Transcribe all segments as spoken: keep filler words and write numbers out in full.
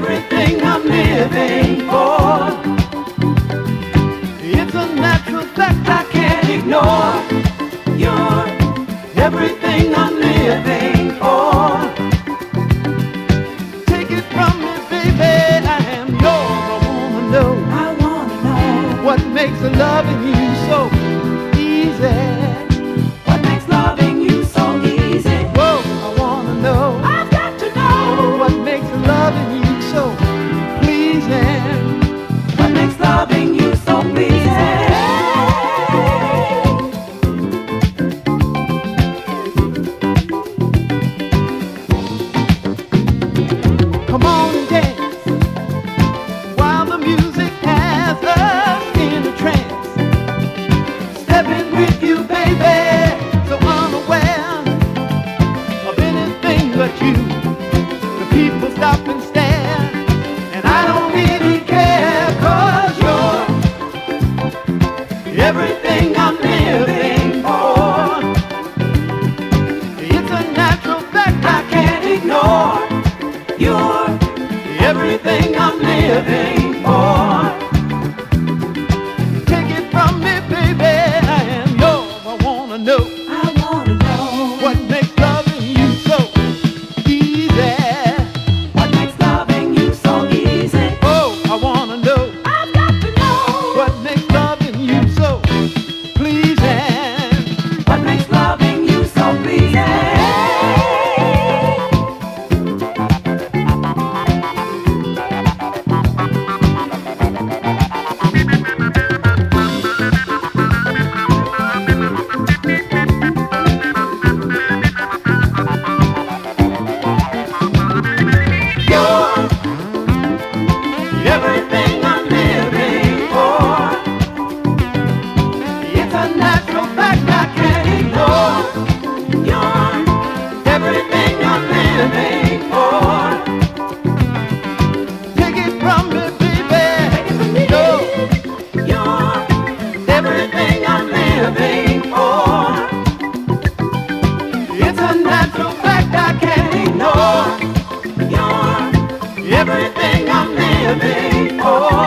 everything I'm living for. It's a natural fact I can't ignore. You're everything I'm living for. Take it from me, baby, I am yours. I wanna know, I wanna know what makes loving you so easy. What makes loving you so easy? Whoa, I wanna know. I've got to know what makes loving you so pleasing. What makes loving you so pleasing? Come on and dance while the music has us in a trance. Stepping with you, baby, so unaware of anything but you. The people stop and stare, and I don't really care, 'cause you're everything I'm living for. It's a natural fact I can't ignore. You're everything I'm living for. Take it from me, baby, I am yours. I wanna know, I wanna know what makes loving you so easy. What makes loving you so easy? Oh, I wanna know, I've got to know what makes loving you so pleasing. What makes loving you so pleasing? Everything I'm living for. It's a natural fact I can't ignore. You're everything I'm living for. Take it from me, baby. Take it from me. You're everything I'm living for. It's a natural fact I can't ignore. You're everything I'm living for.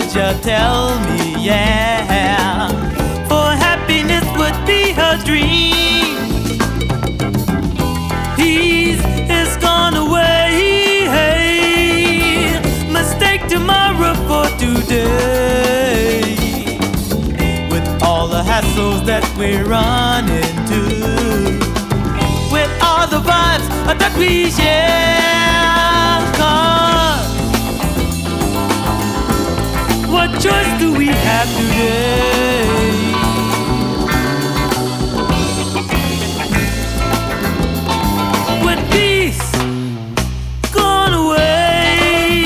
would you tell me, yeah? For happiness would be her dream. He's is gone away. Mistake tomorrow for today. With all the hassles that we're running to, with all the vibes that we share. 'Cause what choice do we have today? With peace gone away,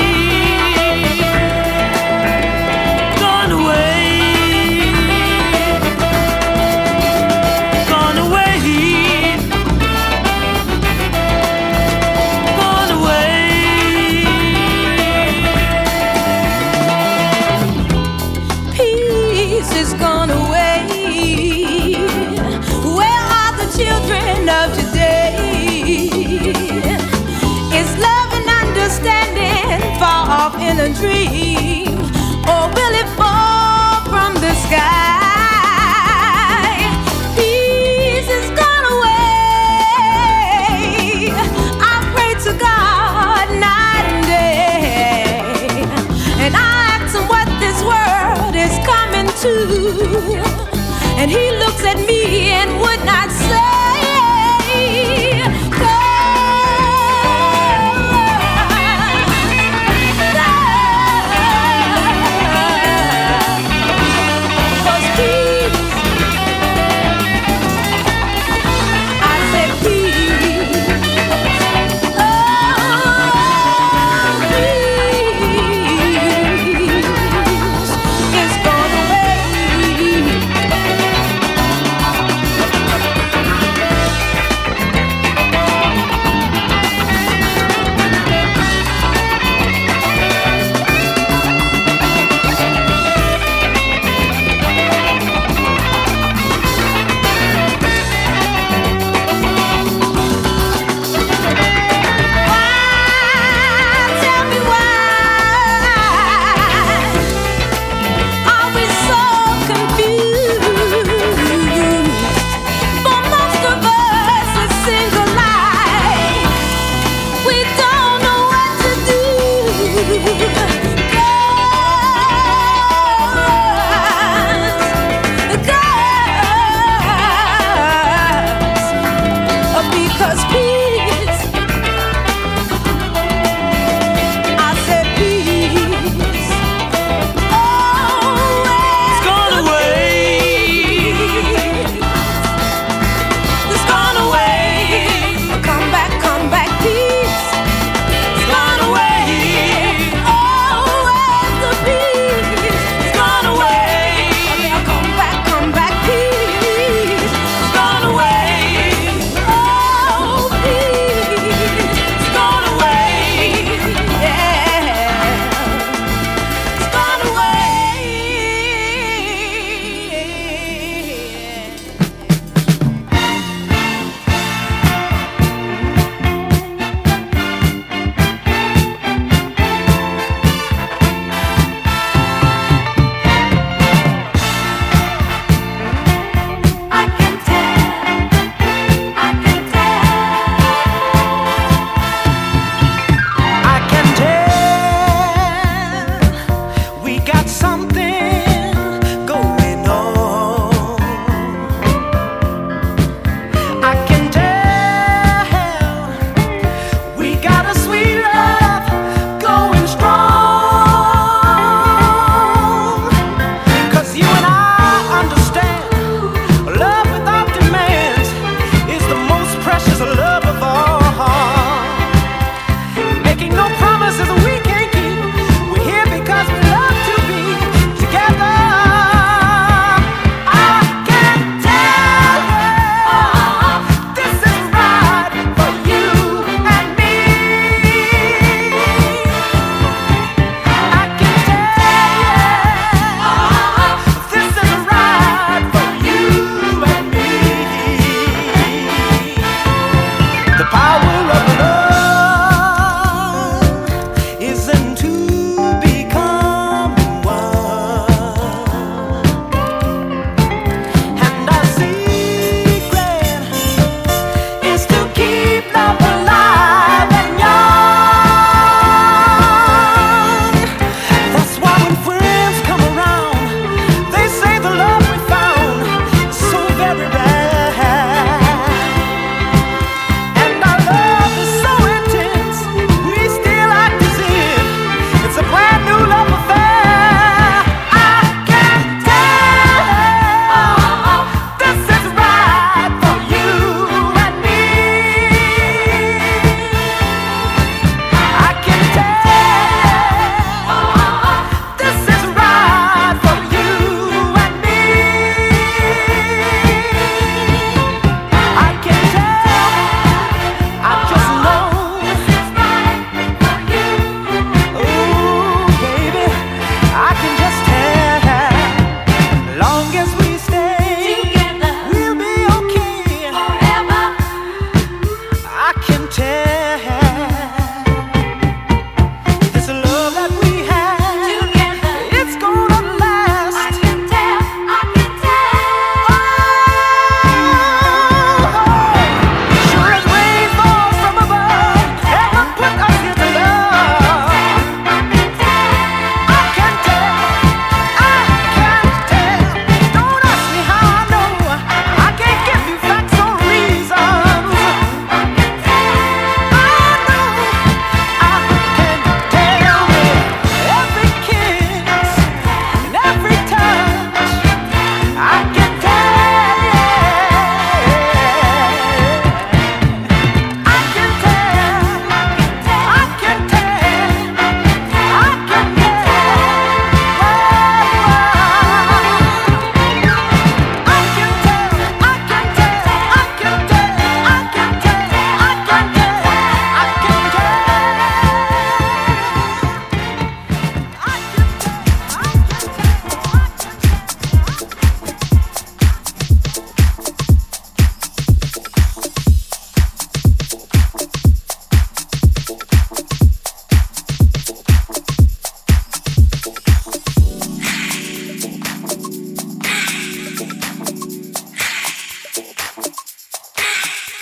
gone away, gone away, gone away. Peace is gone away. Where are the children of today? Is love and understanding far off in a dream, or will it fall from the sky? Peace is gone away. I pray to God night and day, and I ask him what this world is coming to, and he looks at me and would not say. Cause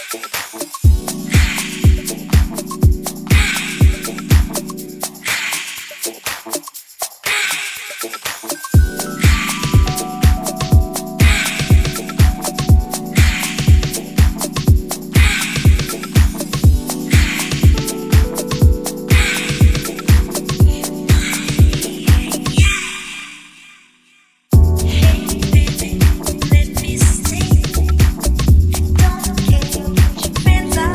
Friends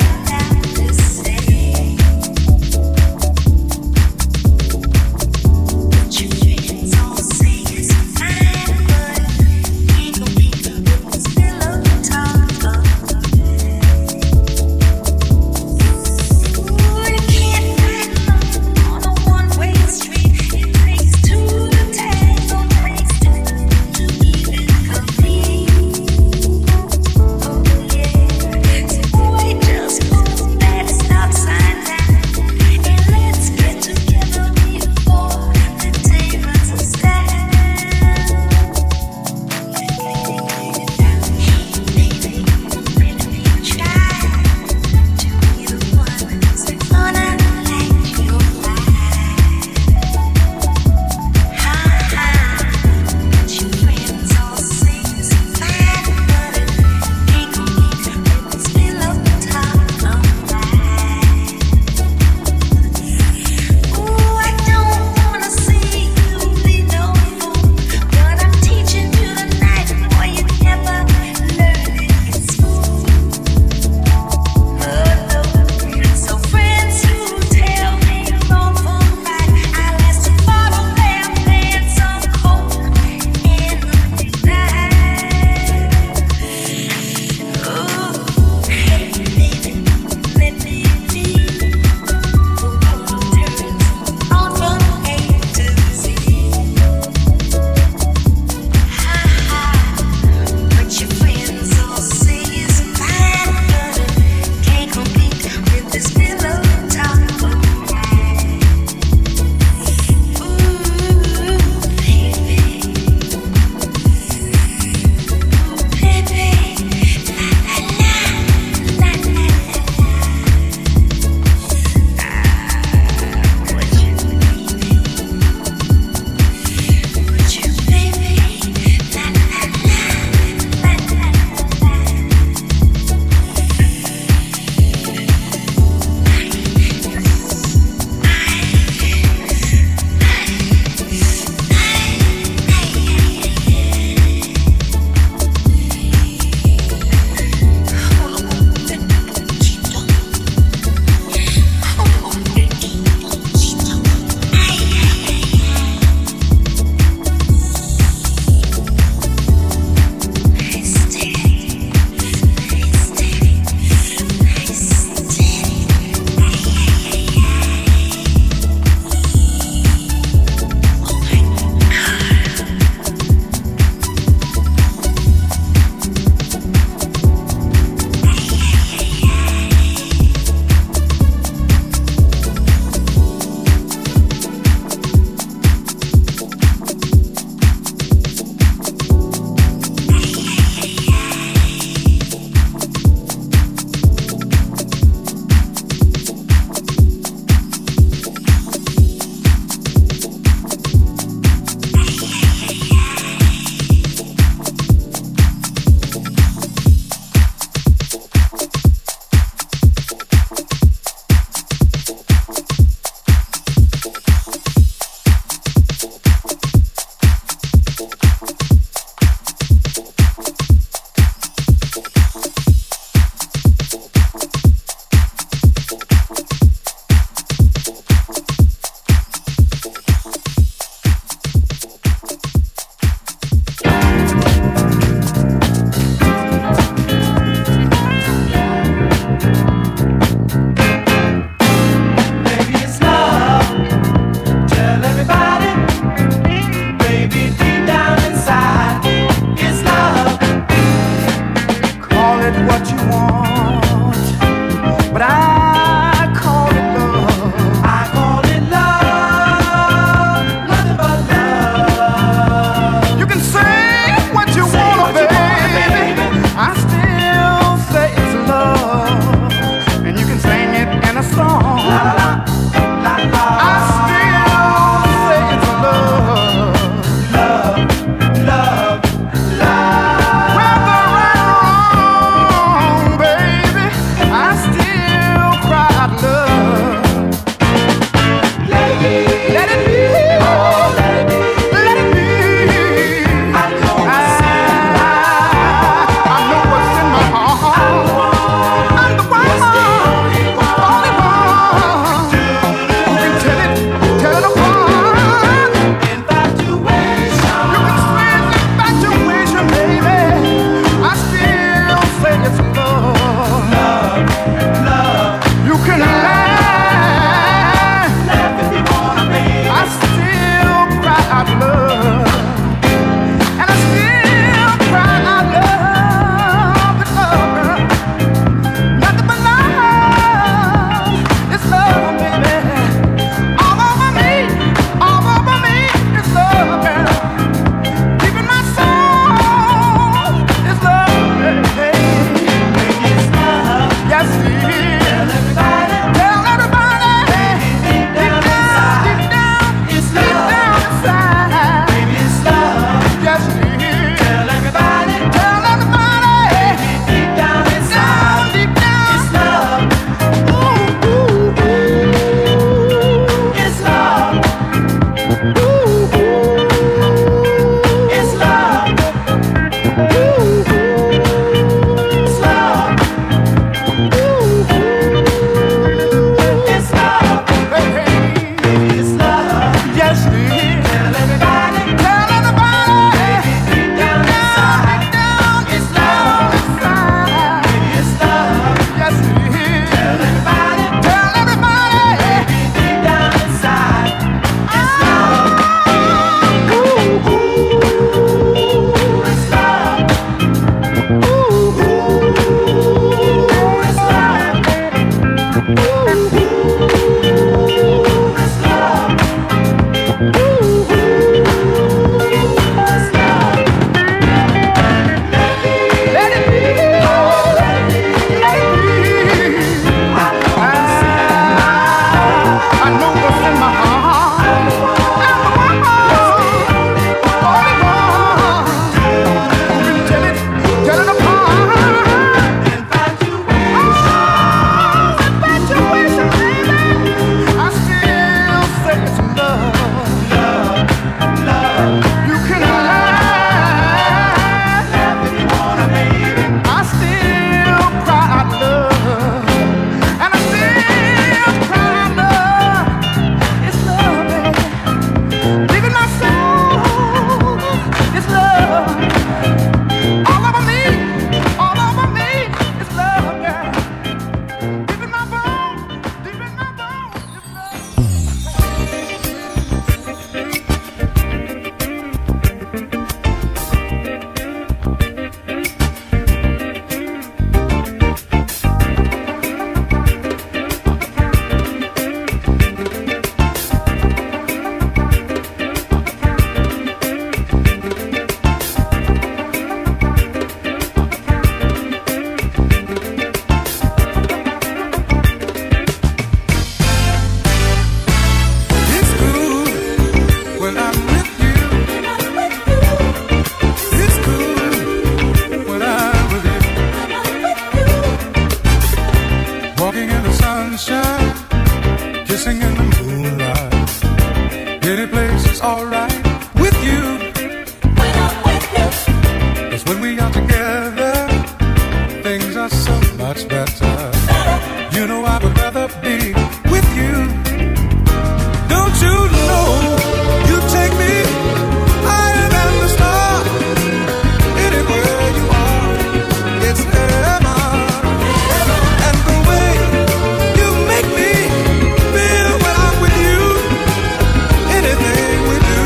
kissing in the moonlight. Any place is alright with you. When I'm with you. 'Cause when we are together, things are so much better. You know I would rather be with you. Don't you know you take me higher than the stars? Anywhere you are, it's heaven. And the way you make me feel when I'm with you, anything we do.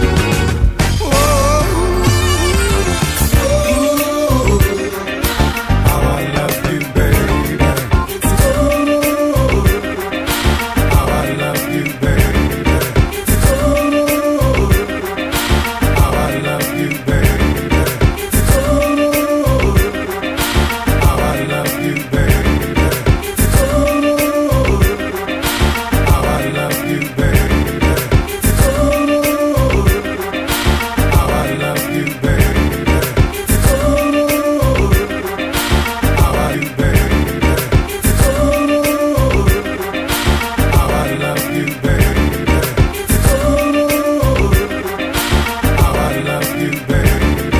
Oh, how I love you, baby. How I love you, baby. How I love you, baby. How I love you, baby. How I love you, baby. How I love you, baby. How I you, baby. How I love you, baby. How I love you, baby.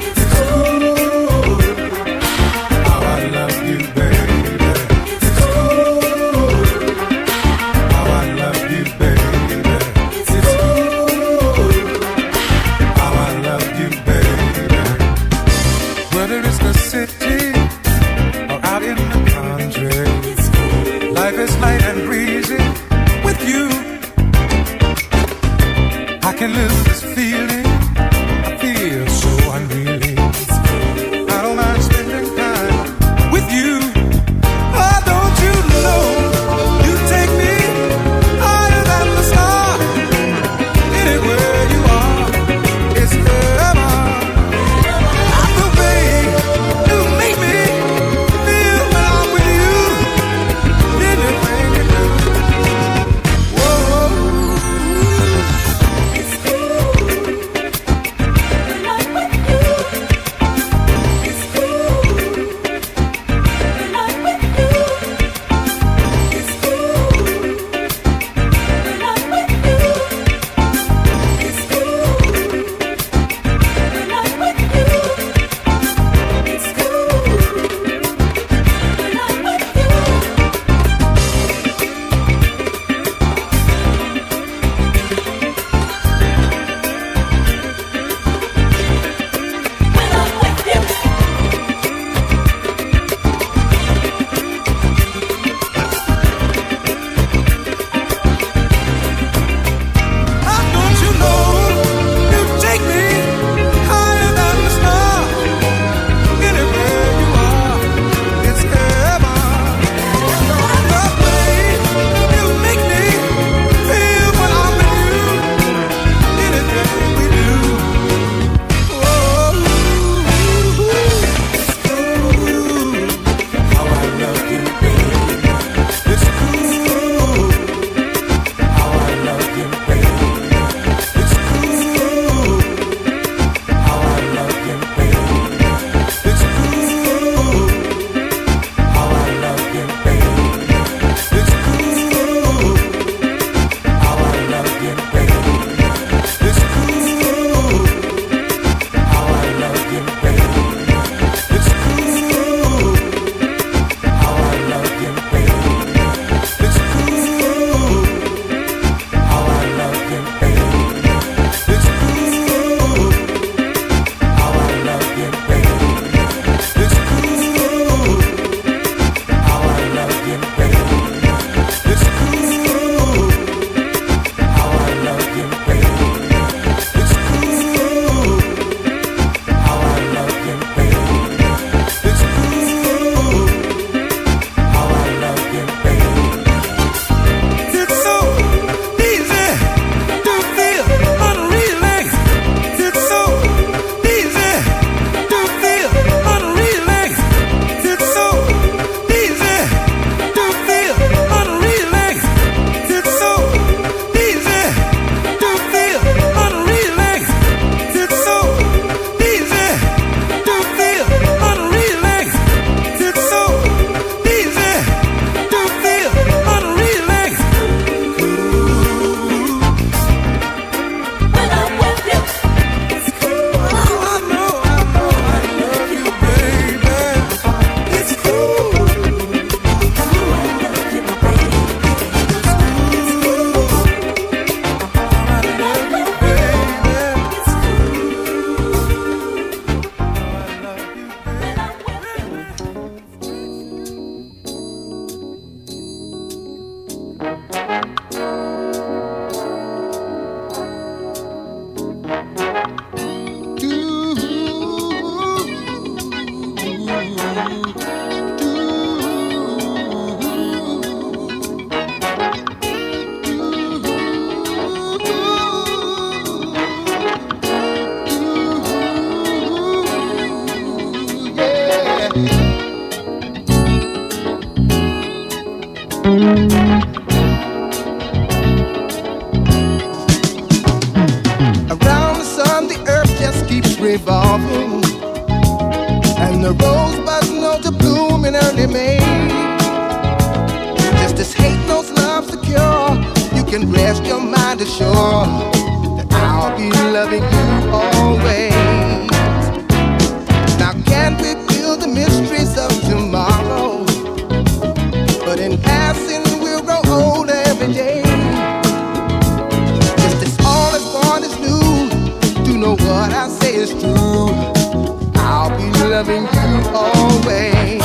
How I love you, baby. How I love you, baby. How I love you, baby. Whether it's the city or out in the country, life is light and breezy with you. I can lose this feeling. I feel so unreal. I don't mind spending time with you. Oh, don't you know you take me higher than the stars? Anywhere you are, it's heaven. The way you make me feel when I'm with you, anything you do. Whoa. Around the sun, the earth just keeps revolving, and the rosebuds know to bloom in early May. Just as hate knows love secure, you can rest your mind assured that I'll be loving you always. Now can't we feel the mysteries of tomorrow? But in passing we'll grow older every day. Just as all is born is new, to know what I say is true, I'll be loving you always.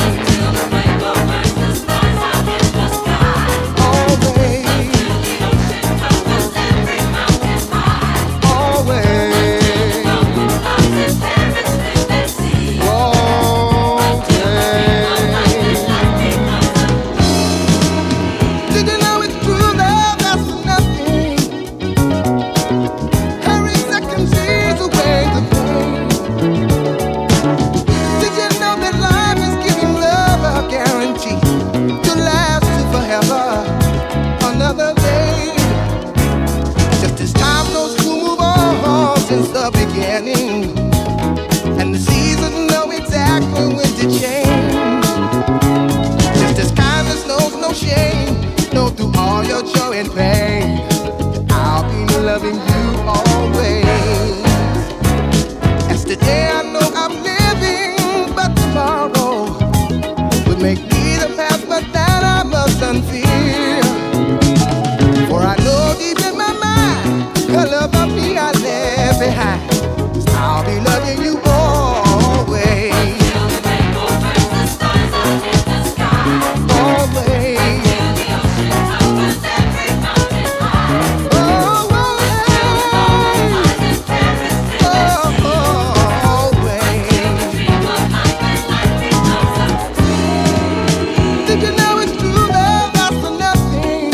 And the seasons know exactly when to change. Just as kindness knows no shame, know through all your joy and pain, I'll be loving you always. As today I know I'm living, but tomorrow would make me the past, but that I must unfear. For I know deep in my mind, the love of me I left behind. I'll be loving you always. Till the rainbow burns the stars out in the sky. Always. Till the ocean covers every mountain high. Always. Till the mountains perish in the sea. Always. Till the dream of life and life becomes a dream. Did you know it's true love lasts for nothing?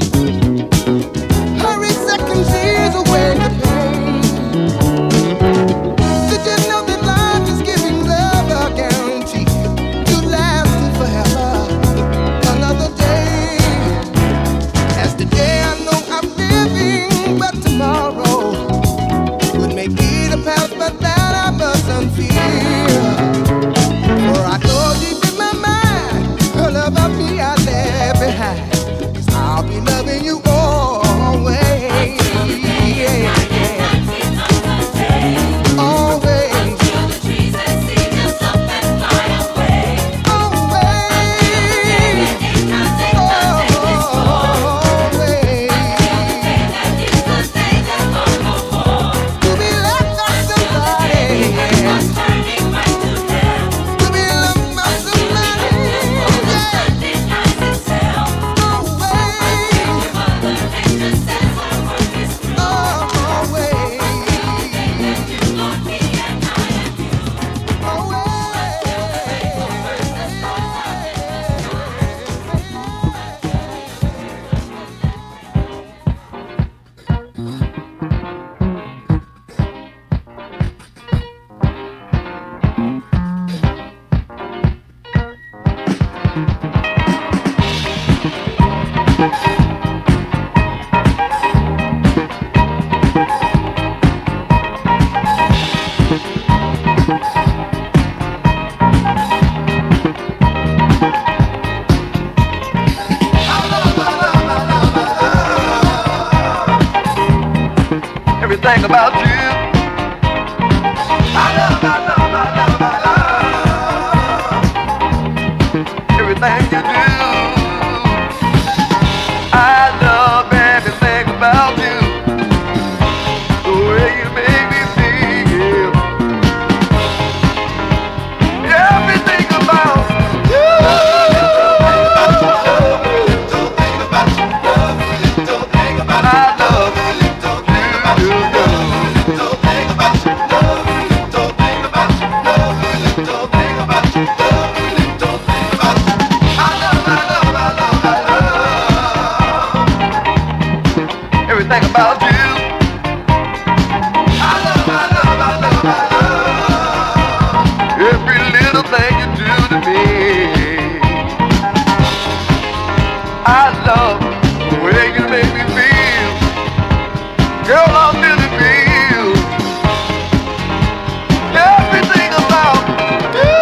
Hurry seconds years away the pain. I'll be loving you always. Yeah, yeah. Always. Until the trees and sing us up and fly away. Always. Always. Until the day that long before. To be loved by somebody. Was turning right to hell. To be loved by somebody. Yeah. Itself. Everything about you, I love, I love, I love, I love everything you do. I love everything about you, the way you make me feel. Everything about you. Little thing about you, love, little thing about you, I love you. Little thing about you, love, little thing about you, love, little thing about you, love, little thing about you. I love the way you make me feel. Girl, I'm really feel everything about you.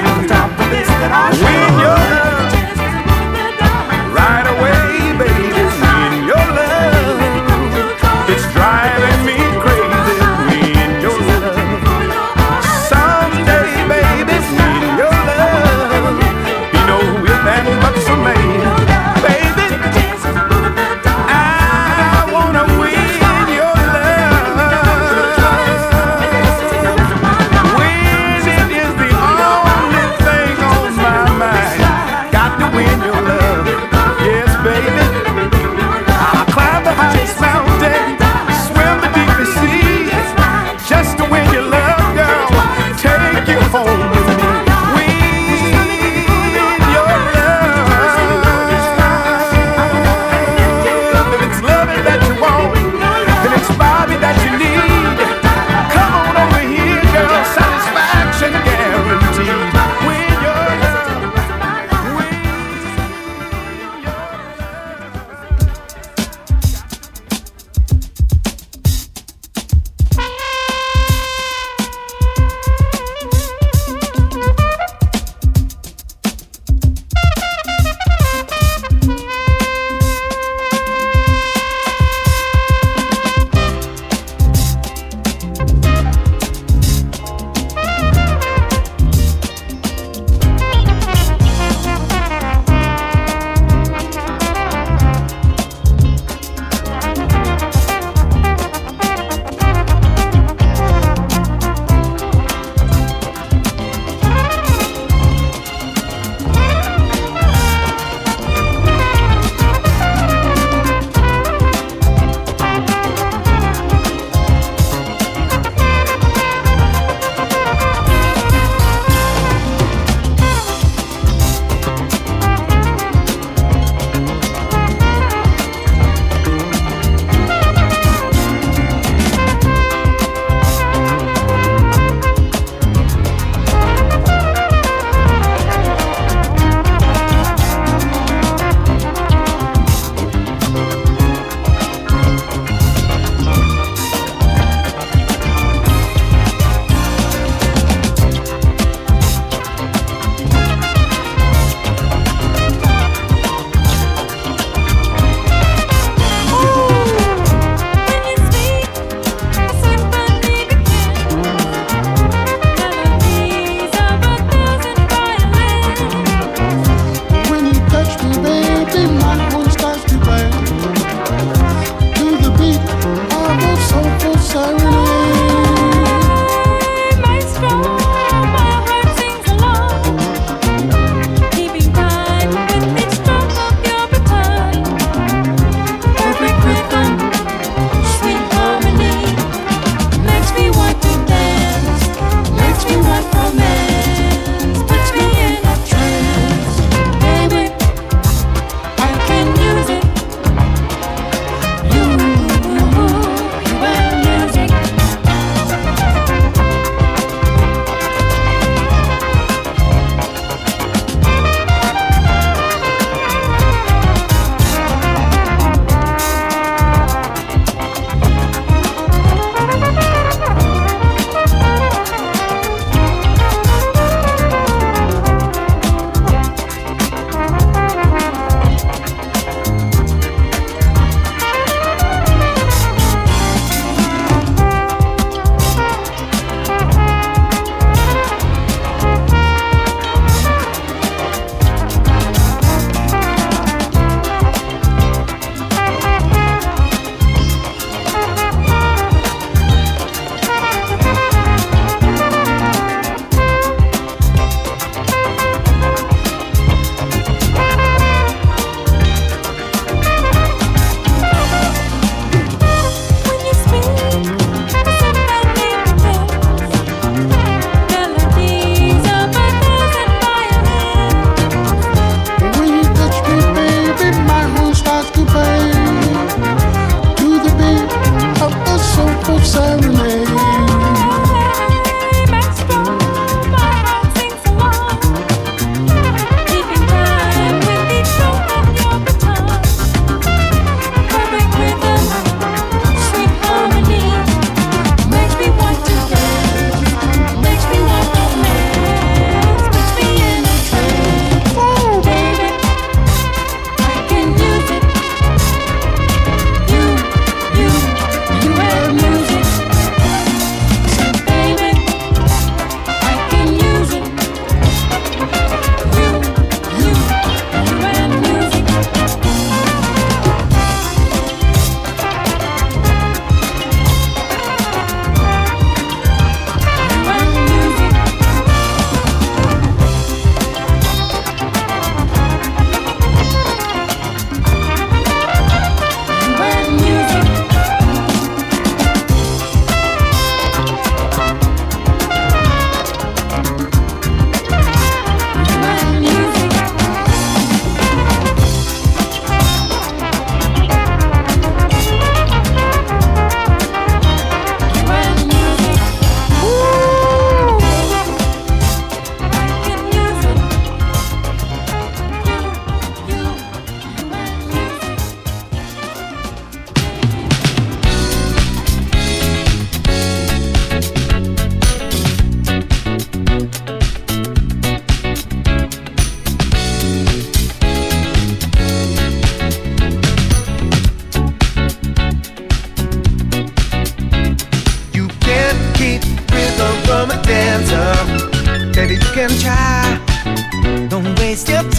Right away, baby.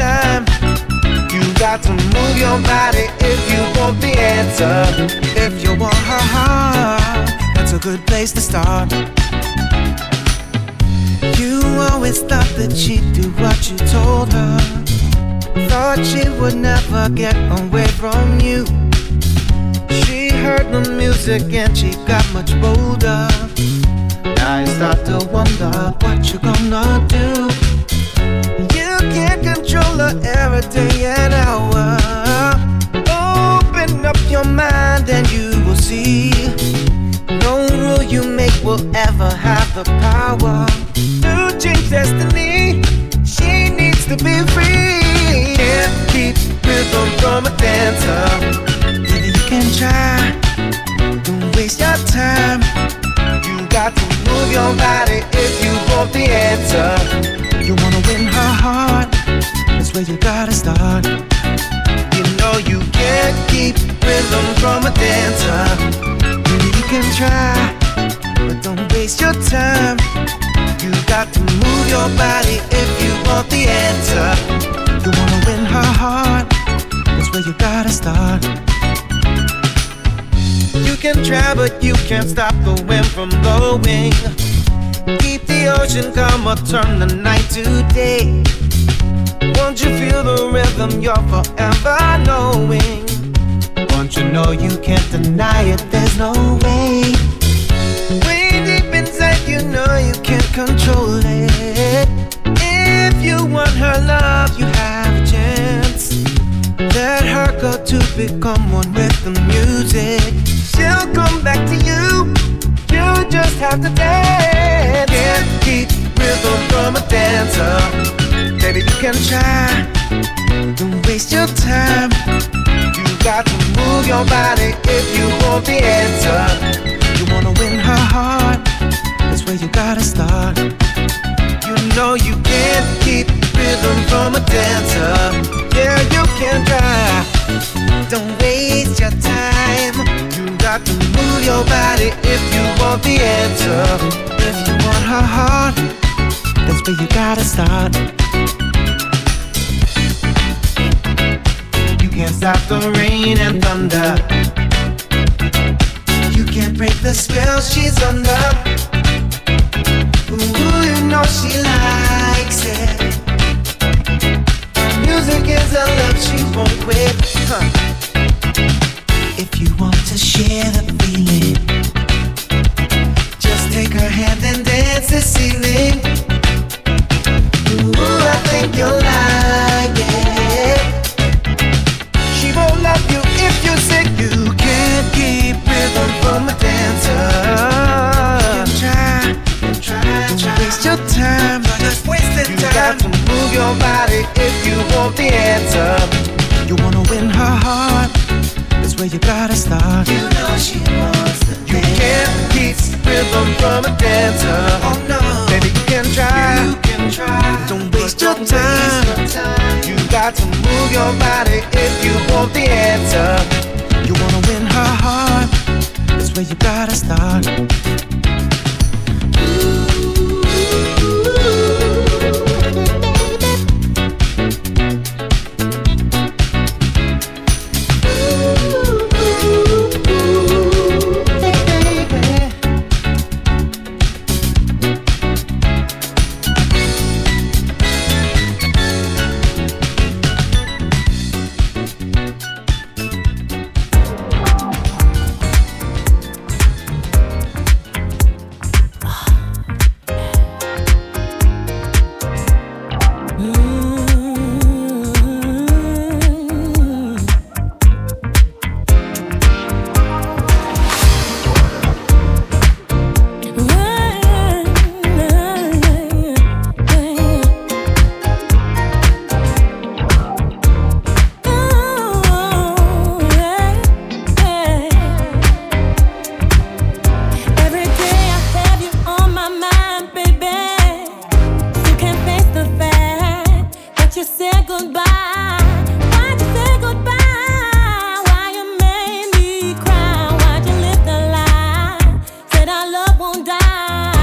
time. You got to move your body if you want the answer. If you want her heart, that's a good place to start. You always thought that she'd do what you told her. Thought she would never get away from you. She heard the music and she got much bolder. Now you start to wonder what you gonna do. You can't control her every day and hour. Open up your mind and you will see. No rule you make will ever have the power to change destiny. She needs to be free. Can't keep rhythm from a dancer. Maybe you can try. Don't waste your time. You got to move your body if you want the answer. You wanna win her heart, that's where you gotta start. You know you can't keep rhythm from a dancer. Maybe you can try, but don't waste your time. You got to move your body if you want the answer. You wanna win her heart, that's where you gotta start. You can try, but you can't stop the wind from blowing. Keep the ocean calm or turn the night to day. Won't you feel the rhythm you're forever knowing? Won't you know you can't deny it, there's no way. Way deep inside you know you can't control it. If you want her love, you have a chance. Let her go to become one with the music. She'll come back to you. You just have to dance. Can't keep rhythm from a dancer. Baby, you can try. Don't waste your time. You got to move your body if you want the answer. You wanna win her heart, that's where you gotta start. You know you can't keep rhythm from a dancer. Yeah, you can try. Don't waste your time. You got to move your body if you want the answer. If you want her heart, that's where you gotta start. You can't stop the rain and thunder. You can't break the spell she's under. Ooh, you know she likes it. Music is a love she won't quit. Huh. If you want to share the feeling, just take her hand and dance the ceiling. Ooh, I think you'll like it. She won't love you if you say you can't keep rhythm from a dancer. Try, try, don't waste your time, just wasting time. You got to move your body if you want the answer. You wanna win her heart, that's where you gotta start. You know she wants the dance. You can't keep rhythm from a dancer. Oh no, baby you can try. You can try. Don't waste your don't time. Waste your time. You got to move your body if you want the answer. You wanna win her heart, that's where you gotta start.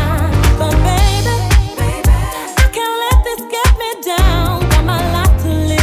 But baby, I can't let this get me down. Got my life to live.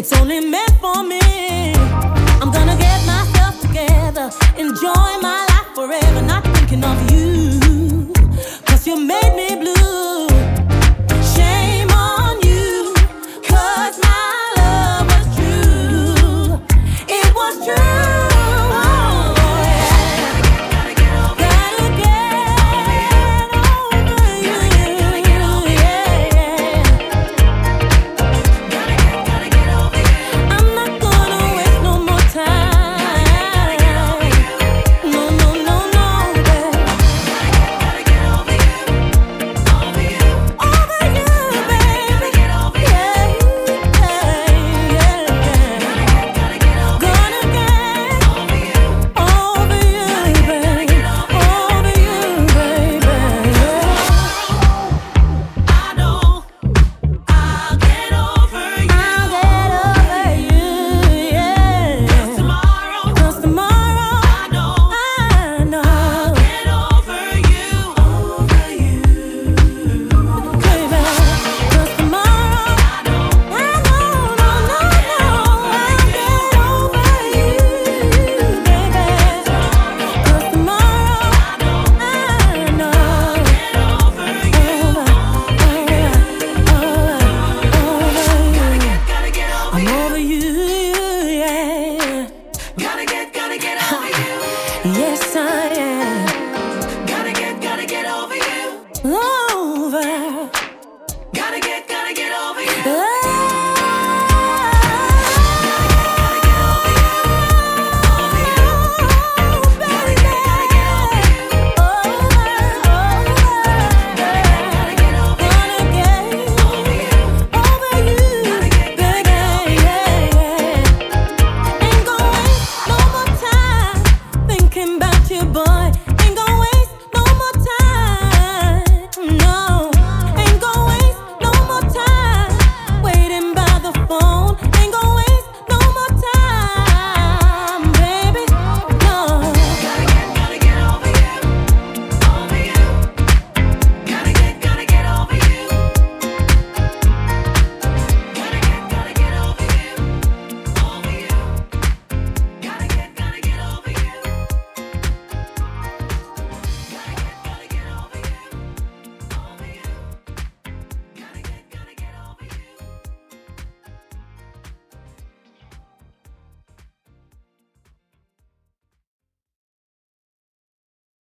it's only meant for me. I'm gonna get myself together, enjoy my life forever, not